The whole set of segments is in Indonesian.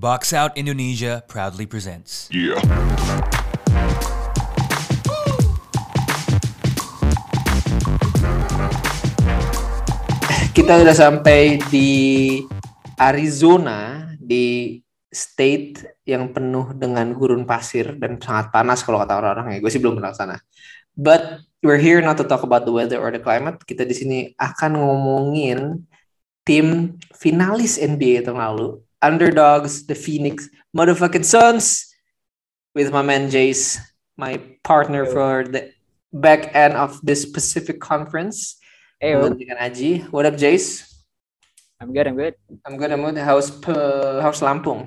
Box Out Indonesia proudly presents. Yeah. Kita udah sampai di Arizona, di state yang penuh dengan gurun pasir dan sangat panas kalau kata orang-orang ya. Gue sih belum pernah ke sana. But we're here not to talk about the weather or the climate. Kita di sini akan ngomongin tim finalis NBA tahun lalu, underdogs, the Phoenix motherfucking Suns, with my man Jace, my partner for the back end of this Pacific Conference. Menggantikan Aji. What up, Jace? I'm good. I'm good. How's Lampung?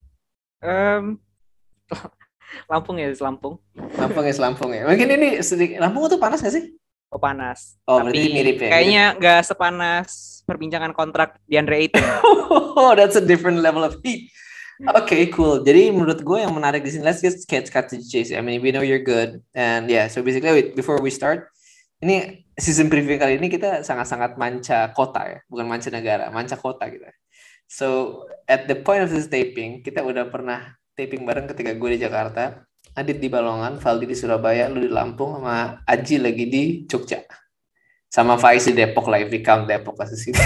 Lampung is Lampung. Lampung ya. Mungkin ini sedikit. Lampung tuh panas nggak sih? Oh, panas. Oh, tapi berarti mirip ya. Kayaknya nggak sepanas perbincangan kontrak DeAndre Ayton. Oh, that's a different level of heat. Okay, cool. Jadi menurut gue yang menarik di sini, let's just cut to chase. I mean, we know you're good, and yeah. So basically, before we start, ini season preview kali ini kita sangat-sangat manca kota ya, bukan manca negara, manca kota gitu. So at the point of this taping, kita udah pernah taping bareng ketika gue di Jakarta, Adit di Balongan, Valdi di Surabaya, lu di Lampung, sama Aji lagi di Jogja. Sama Faiz di Depok lah, if we count Depok as a city.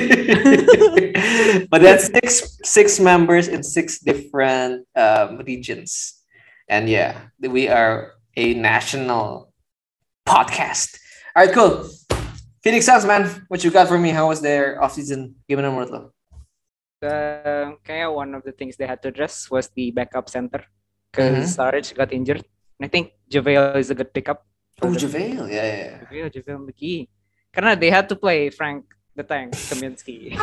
But that's six members in 6 different regions. And yeah, we are a national podcast. All right, cool. Phoenix Suns, man, what you got for me? How was their offseason? Gimana menurut lo? Kayak one of the things they had to address was the backup center because Sarge got injured. And I think JaVale is a good pickup. Oh, JaVale, yeah. JaVale McGee. Karena they had to play Frank the Tank Kaminsky.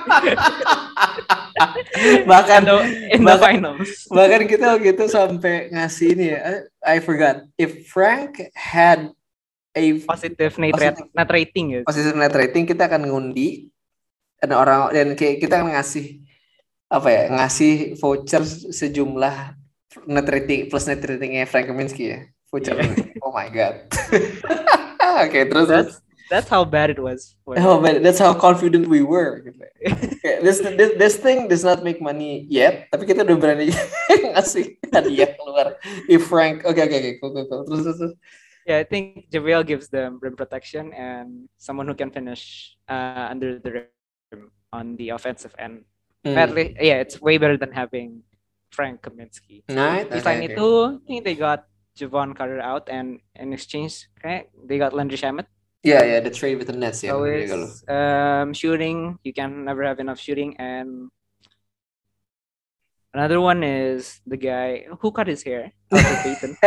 bahkan in the finals. Bahkan kita gitu sampai ngasih ini ya. I forgot if Frank had a positive net rating ya. Positive net rating, kita akan ngundi dan kita akan ngasih ngasih voucher sejumlah net rating plus net ratingnya Frank Kaminsky ya. Voucher. Yeah. Oh my god. Okay, terus That's how bad it was. That's how confident we were. Okay, this thing does not make money yet, tapi kita udah berani ngasih hadiah keluar. If Frank, okay, cool. Terus. Yeah, I think JaVale gives them rim protection and someone who can finish under the rim on the offensive end. At least, yeah, it's way better than having Frank Kaminsky. Nice. Selain itu, I think they got Javon Carter out, and in exchange, they got Landry Shamet. Yeah, the trade with the Nets. Yeah, always, shooting, you can never have enough shooting. And another one is the guy who cut his hair, Payton.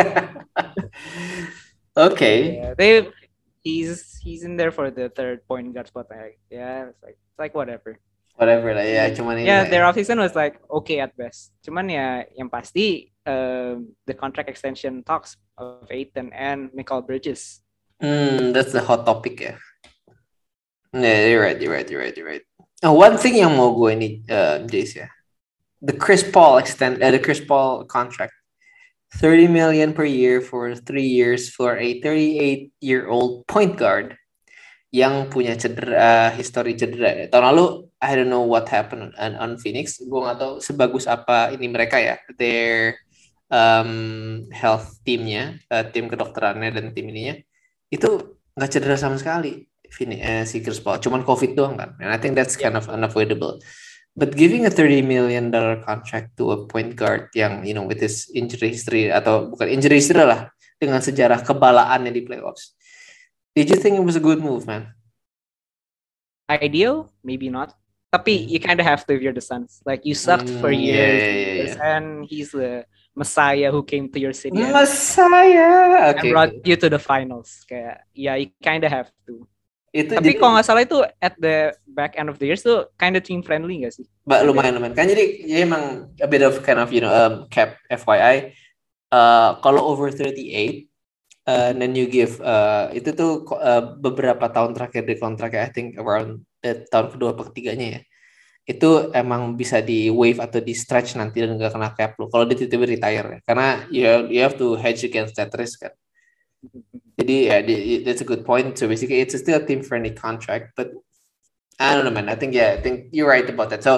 Okay. Yeah, he's in there for the third point guard spot. Yeah, it's like whatever lah ya, cuman ini. Yeah, their offseason was like okay at best. Cuman ya yang pasti the contract extension talks of Ayton and Mikal Bridges. That's the hot topic ya. Yeah, you're right. One thing yang mau gue ini, Jace ya, the Chris Paul contract, $30 million per year for 3 years for a 38-year-old point guard yang punya history cedera. Tahun lalu, I don't know what happened on Phoenix. Gue nggak tahu sebagus apa ini mereka ya, their health teamnya, tim kedokterannya dan tim ininya. Itu nggak cedera sama sekali si Chris Paul, cuman COVID doang kan, and I think that's kind of unavoidable. But giving a $30 million contract to a point guard yang with his injury history, atau bukan injury history lah, dengan sejarah kebalaannya di playoffs, did you think it was a good move, man? Ideal, maybe not. Tapi you kind of have to if you're the Suns. Like you sucked for years, and he's the Messiah who came to your city. Messiah, okay. And brought you to the finals. Kayak, yeah, you kind of have to. Tapi jadi, kalau nggak salah itu at the back end of the years tuh kind of team friendly nggak sih? Lumayan. Kan jadi emang a bit of kind of cap FYI. Kalau over 38, then you give itu tuh beberapa tahun terakhir di kontraknya, I think around tahun kedua atau ketiganya ya, itu emang bisa di waive atau di stretch nanti dan nggak kena cap lo kalau dia tiba-tiba retire ya. Karena you have to hedge against that risk kan. Jadi that's a good point. So basically it's still a team friendly contract, but I don't know, man. I think you're right about that. So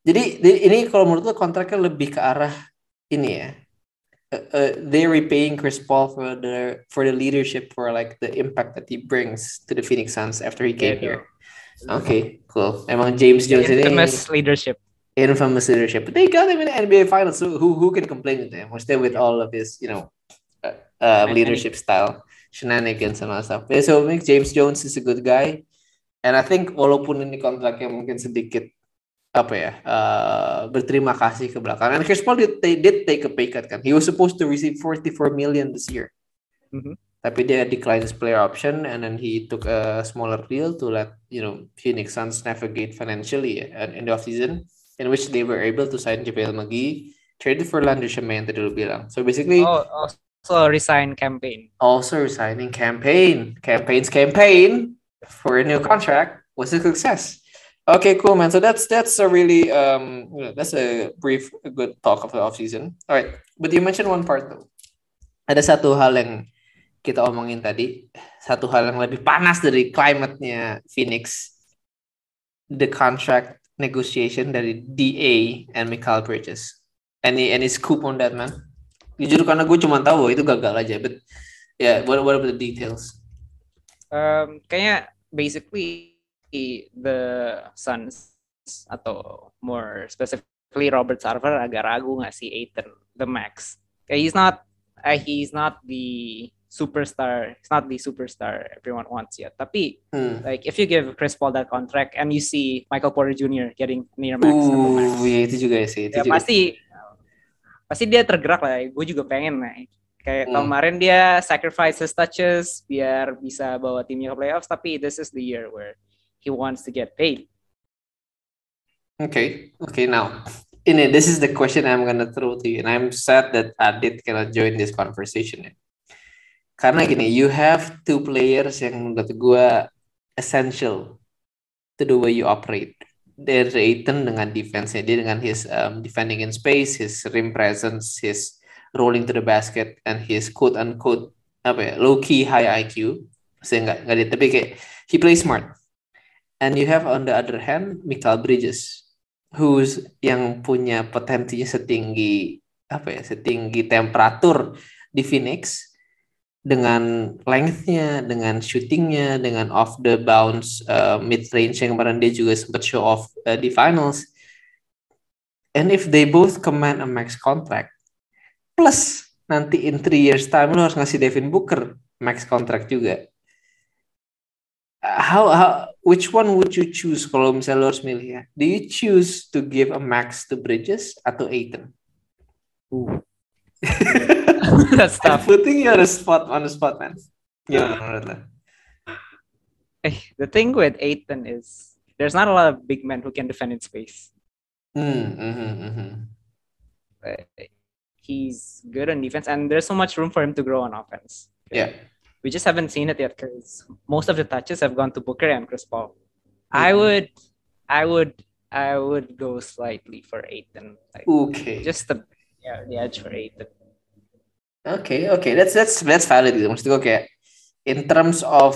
Jadi ini kalau menurut lo kontraknya lebih ke arah ini ya. They're repaying Chris Paul for the leadership, for like the impact that he brings to the Phoenix Suns after he came here. Okay, cool. Emang James Jones ini Infamous leadership. Infamous leadership. But they got him in the NBA Finals. So who can complain with him? We're still with all of his, leadership style, shenanigans and all that stuff. Yeah, so I think James Jones is a good guy. And I think walaupun ini kontraknya mungkin sedikit berterima kasih ke belakang. And Chris Paul did take a pay cut kan. He was supposed to receive $44 million this year. Mm-hmm. Tapi dia declined his player option and then he took a smaller deal to let Phoenix Suns navigate financially in the offseason, in which they were able to sign JaVale McGee, traded for Landry Shamet yang tadi lu bilang. So basically also resign campaign. Also resigning campaign for a new contract was a success. Okay, cool, man. So that's a really that's a good talk of the offseason. All right, but you mentioned one part though. Ada satu hal yang kita omongin tadi, satu hal yang lebih panas dari climate-nya Phoenix, the contract negotiation dari DA and Mikal Bridges. Any scoop on that, man? Jujur karena gue cuma tahu itu gagal aja, but yeah, what are the details? Kayaknya basically the Suns atau more specifically Robert Sarver agak ragu ngasih Ayton the max. He's not the superstar. It's not the superstar everyone wants yet. Tapi like if you give Chris Paul that contract and you see Michael Porter Jr. getting near max atau max, iya itu juga sih. Pasti dia tergerak lah. Gue juga pengen kayak kemarin dia sacrifice his touches biar bisa bawa timnya ke playoffs. Tapi this is the year where he wants to get paid. Okay. Now, this is the question I'm gonna throw to you, and I'm sad that Adit cannot join this conversation. Karena gini, you have two players yang menurut gue essential to the way you operate. There's Ayton dengan defense-nya, dia dengan his defending in space, his rim presence, his rolling to the basket, and his quote-unquote low-key high IQ. Saya nggak tapi kayak he plays smart. And you have on the other hand Mikal Bridges, who's yang punya potensinya setinggi temperatur di Phoenix, dengan length-nya, dengan shooting-nya, dengan off the bounce mid range yang kemarin dia juga sempat show off di finals. And if they both command a max contract, plus nanti in 3 years time lo harus ngasih Devin Booker max contract juga. Which one would you choose kalau misalnya lo harus milih ya? Do you choose to give a max to Bridges atau Ayton? That's tough. Putting you on the spot, man. Yeah. The thing with Ayton is there's not a lot of big men who can defend in space. He's good on defense, and there's so much room for him to grow on offense. Yeah. We just haven't seen it yet because most of the touches have gone to Booker and Chris Paul. Mm-hmm. I would go slightly for Ayton. Okay. Just the edge for Ayton. Okay. That's valid. Maksud gue kayak in terms of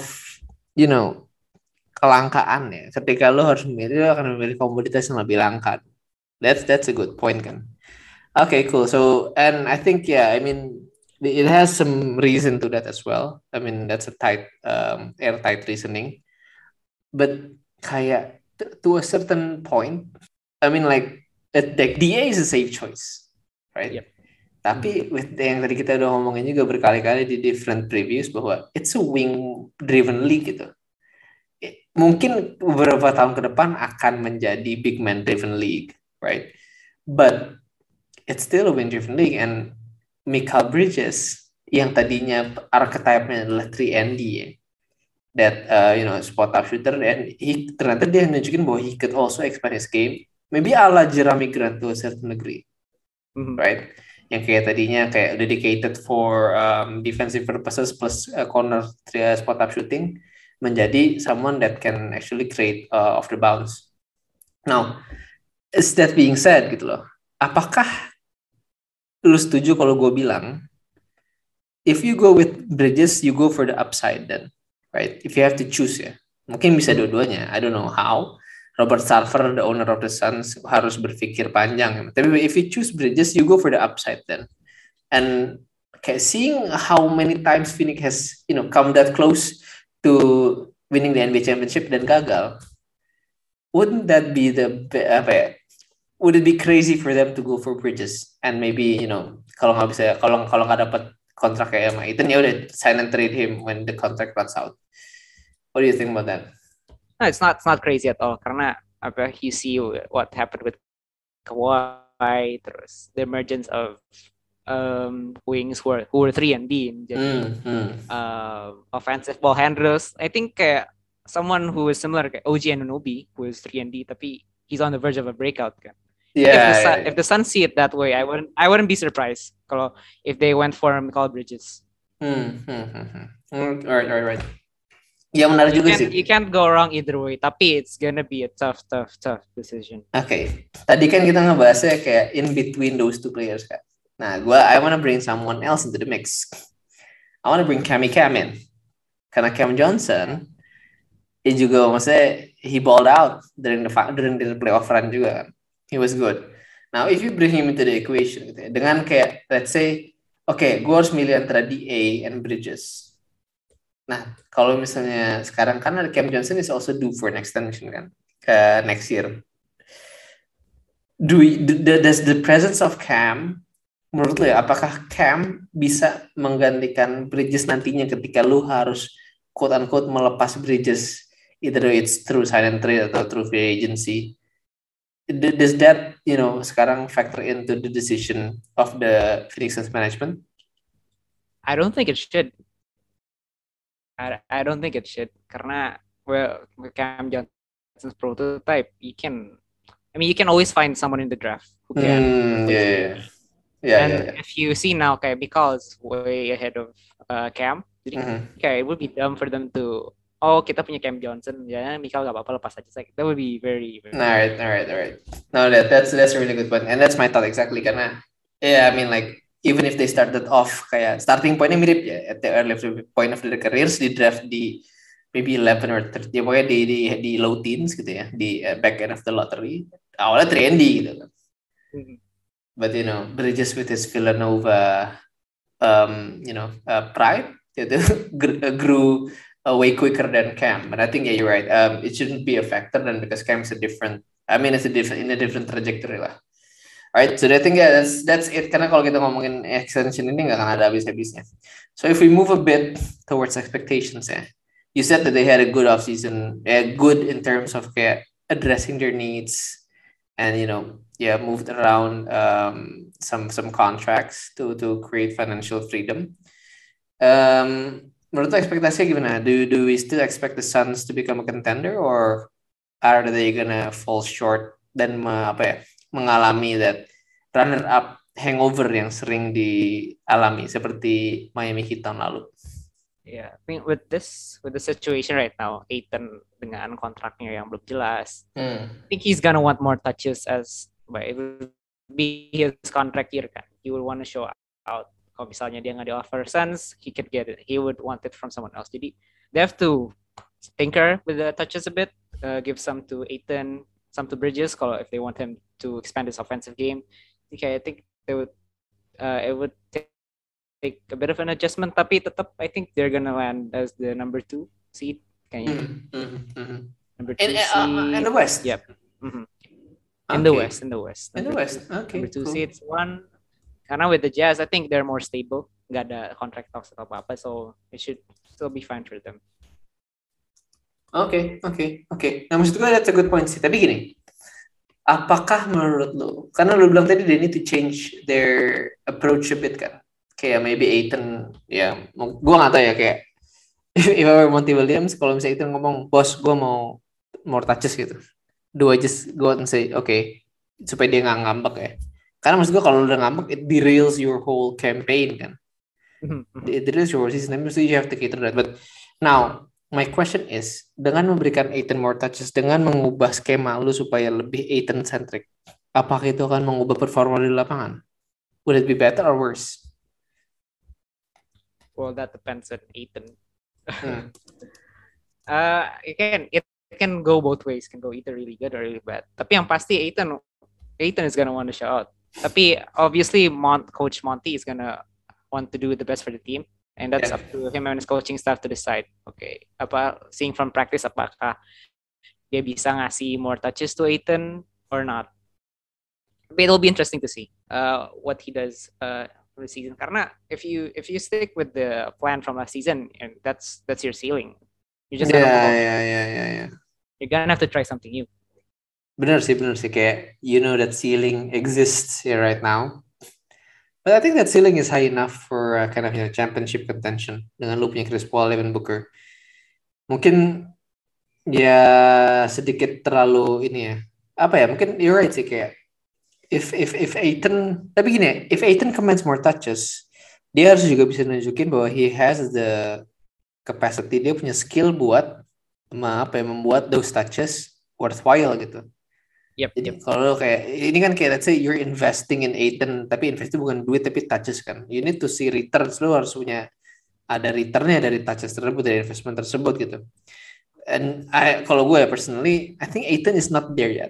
kelangkaan ya. Ketika lo harus memilih, lo akan memilih komoditas yang lebih langka. That's a good point kan. Okay, cool. So and I think it has some reason to that as well. I mean, that's a airtight reasoning. But kayak to a certain point, I mean, like DA is a safe choice, right? Yep. Tapi with yang tadi kita udah ngomongin juga berkali-kali di different previews bahwa it's a wing-driven league gitu. Mungkin beberapa tahun ke depan akan menjadi big man-driven league, right? But it's still a wing-driven league, and Mikal Bridges yang tadinya archetype-nya adalah 3&D ya. That spot up shooter, and ternyata dia nunjukin bahwa he could also expand his game, maybe ala Jeremy Grant to a certain degree, right? Yang kayak tadinya kayak dedicated for defensive purposes plus corner spot up shooting menjadi someone that can actually create off the bounce. Now, is that being said gitu loh, apakah lu setuju kalau gue bilang if you go with Bridges, you go for the upside then, right? If you have to choose ya, mungkin bisa dua-duanya. I don't know how. Robert Sarver, the owner of the Suns, harus berpikir panjang. Tapi if you choose Bridges, you go for the upside then. And kayak seeing how many times Phoenix has, come that close to winning the NBA championship dan gagal, wouldn't that be would it be crazy for them to go for Bridges and maybe kalau nggak dapat kontrak kayak sama Aiton ya udah sign and trade him when the contract runs out. What do you think about that? No, it's not crazy at all karena you see what happened with Kawhi, terus the emergence of wings who were 3-and-D jadi offensive ball handlers. I think kayak someone who is similar kayak OG Anunoby who is 3-and-D tapi he's on the verge of a breakout kan. If the Suns see it that way, I wouldn't be surprised if they went for Mikal Bridges. Right. Ya menarik juga sih. You can't go wrong either way. Tapi it's gonna be a tough decision. Okay. Tadi kan kita ngebahasnya kayak in between those two players kan. Nah, I wanna bring someone else into the mix. I wanna bring Cam in. Karena Cam Johnson, dia juga maksudnya he balled out during the playoff run juga kan. He was good. Now, if you bring him into the equation, gitu ya, dengan kayak, let's say, gue harus milih antara DA and Bridges. Nah, kalau misalnya sekarang kan ada Cam Johnson is also due for an extension kan, ke next year. Does the presence of Cam, menurut lo ya, apakah Cam bisa menggantikan Bridges nantinya ketika lu harus quote-unquote melepas Bridges, either it's through sign and trade atau through free agency? Does that, sekarang factor into the decision of the Phoenix Suns management? I don't think it should. I don't think it should. Karena, with Cam Johnson's prototype, you can always find someone in the draft who can. If you see now, Mikal is way ahead of Cam. Jadi, it would be dumb for them to, kita punya Cam Johnson, ya Mikal gak apa-apa lepas aja. That would be very, very... Alright. No, that's a really good point. And that's my thought exactly. Karena, even if they started off, kayak starting point-nya mirip ya, at the early point of their careers, di draft di maybe 11 or 13, ya pokoknya di low teens gitu ya, di back end of the lottery. Awalnya 3-and-D gitu kan. But, Bridges with his Villanova, pride, grew way quicker than Cam, and I think you're right. It shouldn't be a factor then because Cam's in a different trajectory lah. Alright, so I think that's it. Karena kalau kita ngomongin extension ini nggak akan ada habis-habisnya. So if we move a bit towards expectations, you said that they had a good offseason, good in terms of addressing their needs, and moved around some contracts to create financial freedom. Menurut lo ekspektasinya gimana? Do we still expect the Suns to become a contender, or are they gonna fall short dan mengalami that runner-up hangover yang sering dialami seperti Miami Heat tahun lalu? Yeah, I think with the situation right now, Ayton dengan kontraknya yang belum jelas, I think he's gonna want more touches it will be his contract year kan. He will want to show out. Kalau misalnya dia nggak di-offer Suns, he could get it. He would want it from someone else. Jadi, they have to tinker with the touches a bit, give some to Ayton, some to Bridges, if they want him to expand his offensive game. Okay, I think it would take a bit of an adjustment, tapi tetap, I think they're gonna land as the number 2 seed. Number 2 seed. In the West? Yep. In the West. Okay, number 2 cool. seeds, 1. Karena with the Jazz, I think they're more stable. Nggak ada contract talks atau apa-apa, so it should still be fine for them. Okay. Nah, maksud gue that's a good point sih. Tapi gini, apakah menurut lo, karena lo bilang tadi they need to change their approach a bit kan? Kayak maybe Ayton, gue nggak tahu ya kayak if I were Monty Williams, kalau misalnya Ayton ngomong, bos, gue mau more touches gitu. Do I just go out and say, okay, supaya dia nggak ngambek ya? Karena maksud gue kalau udah ngambek, it derails your whole campaign kan. It derails your whole season. So you have to cater that. But now, my question is, dengan memberikan Ayton more touches, dengan mengubah skema lu supaya lebih Ayton-centric, apakah itu akan mengubah performa di lapangan? Would it be better or worse? Well, that depends on Ayton. can go both ways, can go either really good or really bad. Tapi yang pasti Aiton is gonna want to show out. Tapi obviously Coach Monty is gonna want to do the best for the team, and that's up to him and his coaching staff to decide. Okay, seeing from practice apakah dia bisa ngasih more touches to Aiton or not. But it'll be interesting to see what he does for the season. Karena if you stick with the plan from last season, and that's your ceiling. You just you're gonna have to try something new. Bener sih kayak that ceiling exists here right now. But I think that ceiling is high enough for kind of championship contention dengan lu punya Chris Paul, Devin Booker. Mungkin ya sedikit terlalu ini ya. Apa ya? Mungkin you're right sih kayak if Aiton, tapi gini ya, if Aiton commands more touches, dia harus juga bisa nunjukin bahwa he has the capacity, dia punya skill buat membuat those touches worthwhile gitu. Jadi kalau kayak ini kan kayak let's say you're investing in Aiton, tapi invest itu bukan duit tapi touches kan. You need to see returns, lu harus punya ada returnnya dari touches tersebut, dari investment tersebut gitu. And kalau gue personally, I think Aiton is not there yet.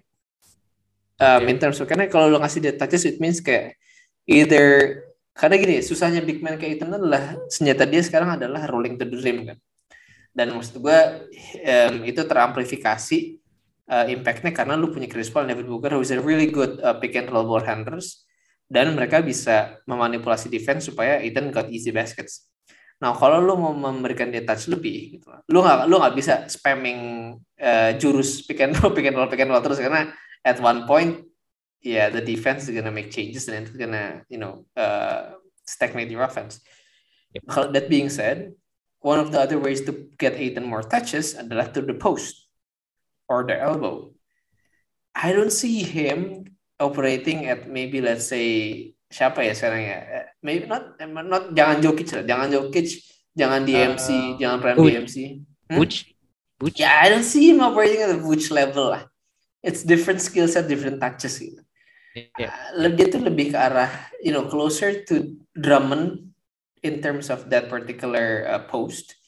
In terms of, karena kalau lu ngasih dia touches, it means kayak either, karena gini, susahnya big man kayak Aiton adalah senjata dia sekarang adalah rolling to the rim kan. Dan maksud gue itu teramplifikasi impactnya karena lu punya Chris Paul dan Devin Booker who is a really good pick and roll ball handlers, dan mereka bisa memanipulasi defense supaya Aiton got easy baskets. Nah kalau lu mau memberikan dia touch lebih gitu, lu nggak bisa spamming jurus pick and roll terus, karena at one point the defense is gonna make changes and it's gonna stagnate your offense. That being said, one of the other ways to get Aiton more touches adalah to the post or the elbow. I don't see him operating at maybe let's say siapa ya sekarang ya? Maybe not jangan Jokic, jangan DMC, jangan prime DMC. Vooch? Yeah, I don't see him operating at the Vooch level lah. It's different skill set, different touches gitu. Dia tuh lebih ke arah closer to Drummond in terms of that particular post.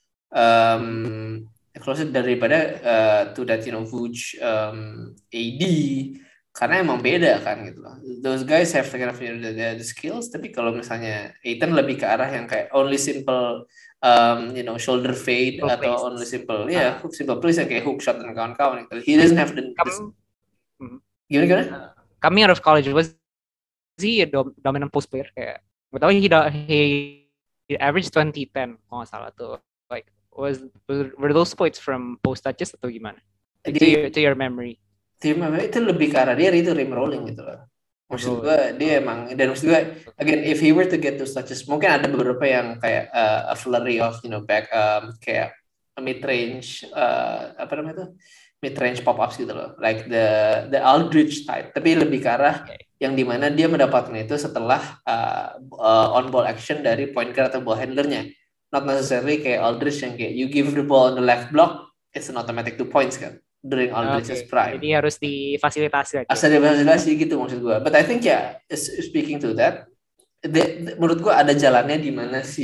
Closer daripada to that Vooch, AD, karena emang beda kan gitu loh. Those guys have kind of the skills, tapi kalau misalnya Aiton lebih ke arah yang kayak only simple shoulder fade atau only simple simple plays yang kayak hook shot dan kawan-kawan gitu. He doesn't have the gimana? Coming out of college, was he a dominant post player? Kayak betul he averaged 20-10 kalau nggak salah tuh. Like were those points from post touches atau gimana? To your memory? Itu lebih ke arah dia itu rim rolling gitu loh. Maksud gue dia emang, dan maksud gue again if he were to get those touches, mungkin ada beberapa yang kayak a flurry of back kayak mid range mid range pop ups gitu loh, like the Aldridge type, tapi lebih ke arah yang dimana dia mendapatkan itu setelah on ball action dari point guard atau ball handlernya, not necessarily kayak Aldridge yang kayak you give the ball on the left block it's an automatic 2 points kan during Aldridge's prime. Jadi harus difasilitasi lagi. Difasilitasi gitu maksud gue. But I think speaking to that, menurut gue ada jalannya di mana si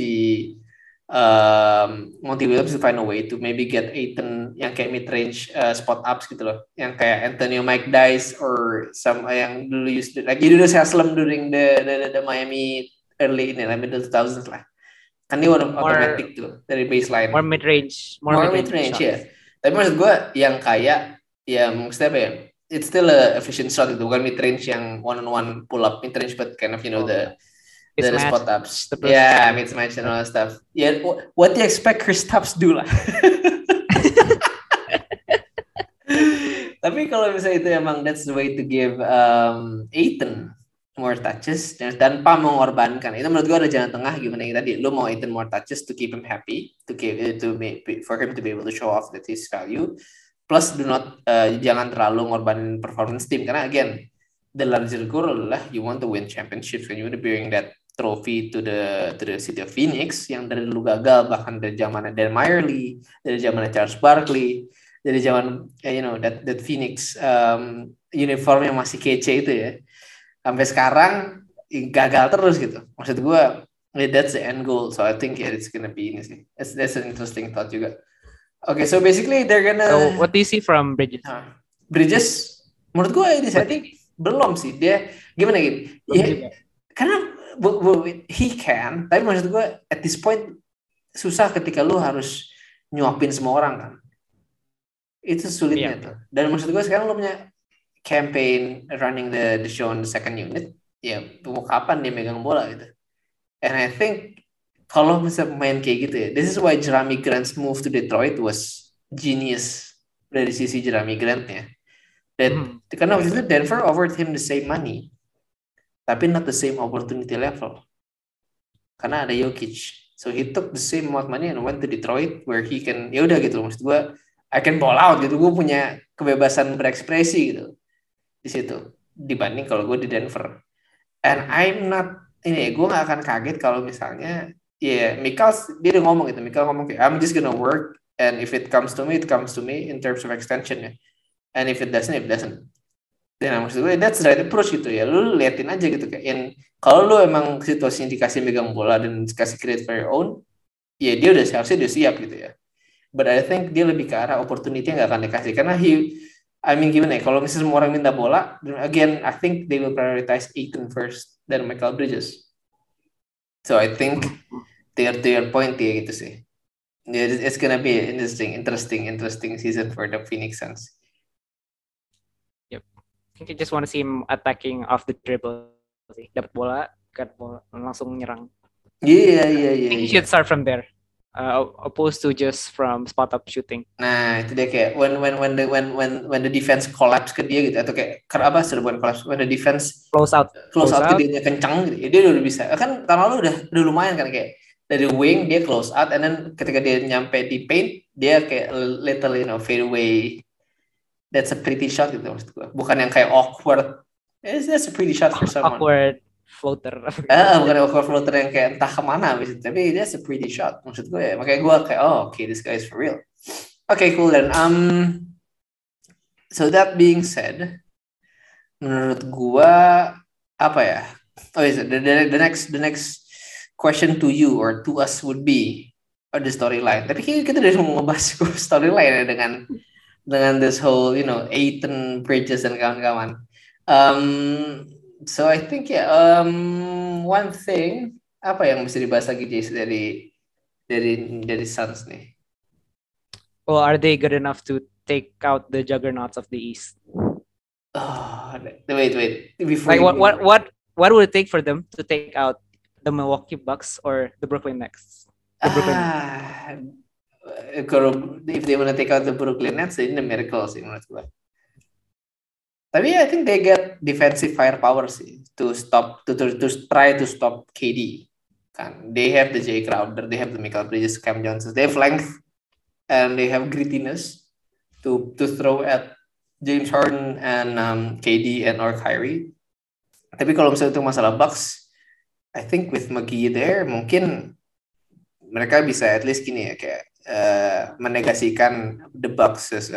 Monty Williams to find a way to maybe get Aiton yang kayak mid range spot ups gitu loh, yang kayak Antonio Mike Dice or some yang dulu used like Udonis Haslem during the Miami early middle 2000s lah. Kan dia automatic tuh dari baseline. More mid range ya. Tapi maksud gue yang kayak maksudnya apa ya? It's still a efficient shot itu, bukan mid range yang one-on-one pull up mid range, but kind of the spot ups. Mismatch and all that stuff. What do you expect Kristaps do lah? Tapi kalau misalnya itu emang that's the way to give Aiton more touches dan tanpa mengorbankan, itu menurut gue ada jalan tengah gimana yang tadi lu mau Aiton more touches to keep him happy, for him to be able to show off that his value, plus do not jangan terlalu ngorbanin performance team, karena again the larger goal adalah you want to win championships, when you want to bring that trophy to the city of Phoenix yang dari dulu gagal, bahkan dari zaman Dan Majerle, dari zaman Charles Barkley, dari zaman that Phoenix uniform yang masih kece itu ya, sampai sekarang gagal terus gitu. Maksud gue that's the end goal, so I think it's gonna be ini sih. That's an interesting thought juga. Okay, so basically they're So gonna what do you see from Bridges? Bridges. Menurut gue ini I think belum sih dia gimana gitu. Belum Ya, juga. karena he can, tapi maksud gue at this point susah ketika lu harus nyuapin semua orang kan. Itu sulitnya tuh. Dan maksud gue sekarang lu punya campaign running the show on the second unit, ya mau kapan dia megang bola gitu. And I think kalau misalnya main kayak gitu ya, this is why Jeremy Grant's move to Detroit was genius dari sisi Jeremy Grant-nya. Karena waktu itu Denver offered him the same money, tapi not the same opportunity level. Karena ada Jokic, so he took the same amount of money and went to Detroit where he can, ya udah gitu, maksud gue, I can ball out gitu, gue punya kebebasan berekspresi gitu di situ dibanding kalau gue di Denver. And I'm not ini, gue gak akan kaget kalau misalnya Mikal dia udah ngomong gitu, Mikal ngomong kayak I'm just gonna work and if it comes to me, it comes to me in terms of extension ya, and if it doesn't, it doesn't. Dan maksud gue that's the right approach gitu ya, lu liatin aja gitu kayak kalau lu emang situasinya dikasih megang bola dan dikasih create for your own, ya dia udah seharusnya dia siap gitu ya. But I think dia lebih ke arah opportunity yang gak akan dikasih karena gimana ya, kalau misalnya semua orang minta bola, again, I think they will prioritize Ayton first dan Michael Bridges. So I think to your point ya gitu sih. It's gonna be an interesting season for the Phoenix Suns. Yep. I think I just want to see him attacking off the dribble sih. Dapat bola, langsung nyerang. Iya. He should start from there. Opposed to just from spot up shooting. Nah itu dia kayak when the defense collapse ke dia gitu atau kayak apa bukan collapse, when the defense close out ke dia kencang gitu, dia udah bisa kan tahun lalu udah lumayan kan kayak dari wing dia close out and then ketika dia nyampe di paint dia kayak little fade away, that's a pretty shot gitu maksud gue, bukan yang kayak awkward, that's a pretty shot for someone. Awkward floater. Bukan awkward floater yang kayak entah kemana abis itu, tapi that's a pretty shot maksud gue ya, makanya gue kayak okay, this guy is for real. Okay, cool then. So that being said, menurut gue apa ya? The next question to you or to us would be the storyline. Tapi kita udah mau ngebahas storyline ya dengan this whole Ayton, Bridges dan kawan-kawan. So I think one thing apa yang bisa dibahas lagi Jace dari Suns nih? Well, are they good enough to take out the juggernauts of the East? Wait. Before like what would it take for them to take out the Milwaukee Bucks or the Brooklyn Nets? If they want to take out the Brooklyn Nets, ini miracle sih menurut gue. Tapi I think they get defensive firepower sih to try to stop KD. Kan, they have the Jay Crowder, they have the Michael Bridges, Cam Johnson, they have length and they have grittiness to throw at James Harden and KD and or Kyrie. Tapi kalau misalnya itu masalah Bucks, I think with McGee there mungkin mereka bisa at least gini ya kayak menegasikan the Bucks as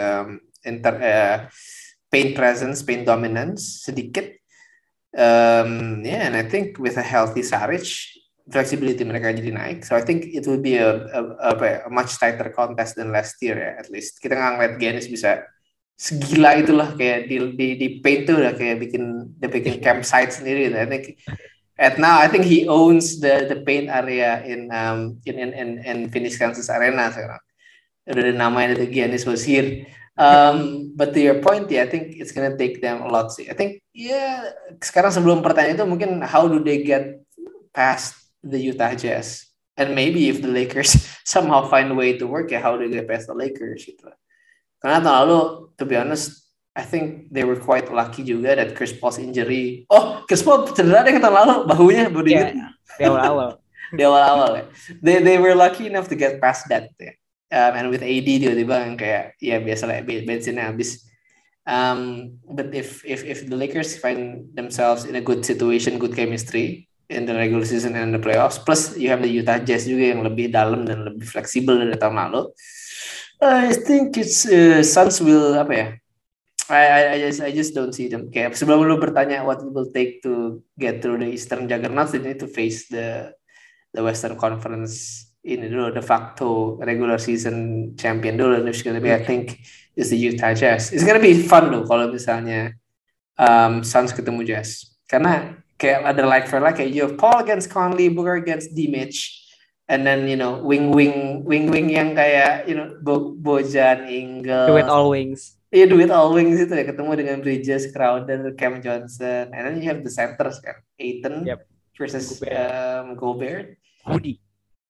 paint presence, paint dominance sedikit. And I think with a healthy Saric, flexibility mereka jadi naik. So I think it will be a much tighter contest than last year ya, at least. Kita nggak ngeliat Giannis bisa segila itulah kayak di paint tuh udah kayak bikin campsite sendiri. I think I think he owns the paint area in Phoenix Kansas Arena sekarang. Udah namanya the Giannis was here. But to your point, I think it's gonna take them a lot sih. I think sekarang sebelum pertanyaan itu mungkin how do they get past the Utah Jazz, and maybe if the Lakers somehow find a way to work how do they get past the Lakers gitu. Karena tahun lalu, to be honest, I think they were quite lucky juga that Chris Paul's injury. Chris Paul cedera deh tahun lalu bahunya baru di awal-awal. Di awal-awal ya. They were lucky enough to get past that ya. And with AD tiba-tiba yang kayak biasalah bensinnya habis. But if the Lakers find themselves in a good situation, good chemistry in the regular season and the playoffs, plus you have the Utah Jazz juga yang lebih dalam dan lebih fleksibel dari tahun lalu, I think it's Suns will apa ya? I just don't see them. Kayak sebelum lu bertanya what it will take to get through the Eastern Juggernauts, they need to face the Western Conference ini dulu de facto regular season champion dulu. And it's gonna be, I think, is the Utah Jazz. It's gonna be fun loh kalau misalnya Suns ketemu Jazz. Karena kayak ada like for like, kayak you have Paul against Conley, Booker against D-Mitch, and then wing yang kayak Bojan, Ingle, Do it all wings. Iya, do it all wings itu ya, ketemu dengan Bridges, Crowder, Cam Johnson, and then you have the centers kan, Ayton versus Gobert. Hoodie.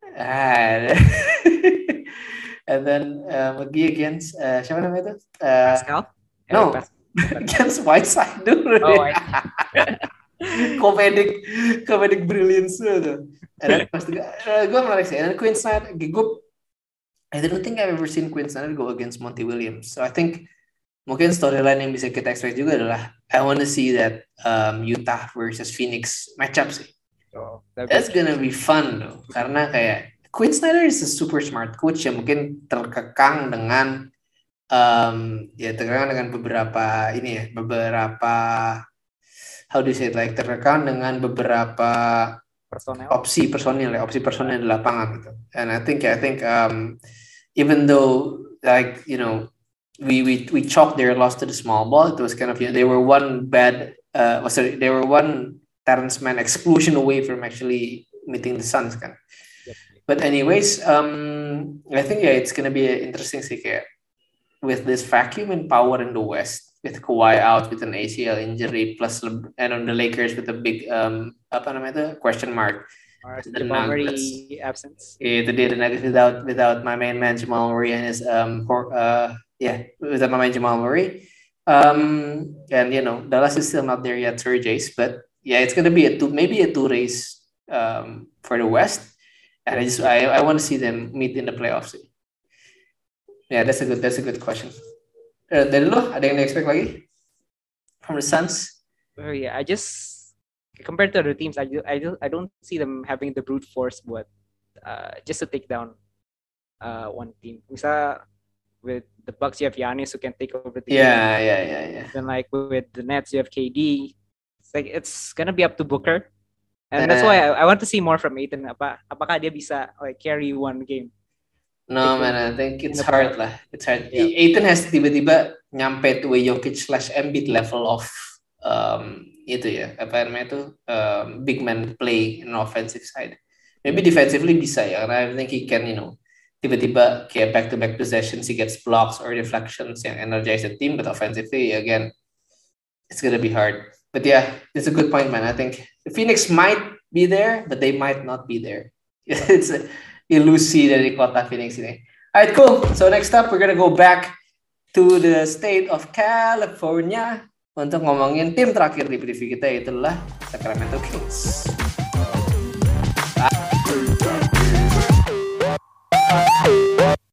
And then McGee against siapa namanya itu? Pascal? No, against Whiteside dulu. Oh, comedic brilliance itu. And then pas gue menarik sih. And then Quinn Snyder, I don't think I've ever seen Quinn Snyder go against Monty Williams. So I think mungkin storyline yang bisa kita expect juga adalah I want to see that Utah versus Phoenix matchup sih. Oh, that's gonna be fun loh. Karena kayak Quinn Snyder is a super smart coach yang mungkin terkekang dengan beberapa how do you say it, like terkekang dengan beberapa opsi personil di lapangan gitu. And I think even though like we chalked their loss to the small ball, it was kind of they were one Terrence Mann exclusion away from actually meeting the Suns kan. But anyways, I think it's gonna be interesting sih kayak with this vacuum in power in the West, with Kawhi out with an ACL injury, plus and on the Lakers with a big question mark. The Nuggets absence. Itu dia, the Nuggets without my main man Jamal Murray and his without my man Jamal Murray. And Dallas is still not there yet, Sir Jace, but yeah, it's gonna be maybe a two race for the West. And I want to see them meet in the playoffs. Yeah, that's a good question. Dari lo, ada yang expect lagi from the Suns? Oh yeah, I just compared to other teams, I don't see them having the brute force buat just to take down one team. Misal with the Bucks, you have Giannis who can take over the game. Yeah. Then like with the Nets, you have KD. It's gonna be up to Booker. And that's why I want to see more from Ayton. Apakah dia bisa like carry one game? No man, I think it's hard lah. It's hard. Yeah. Ayton has tiba-tiba nyampe to a Jokic/Embiid level of big man play in offensive side. Maybe defensively bisa ya, karena I think he can tiba-tiba kayak back-to-back possessions he gets blocks or deflections yang energize the team, but offensively again it's gonna be hard. But yeah, it's a good point, man. I think Phoenix might be there, but they might not be there. It's ilusi dari kota Phoenix ini. Alright, cool. So next up, we're gonna go back to the state of California untuk ngomongin tim terakhir di preview kita, itulah Sacramento Kings.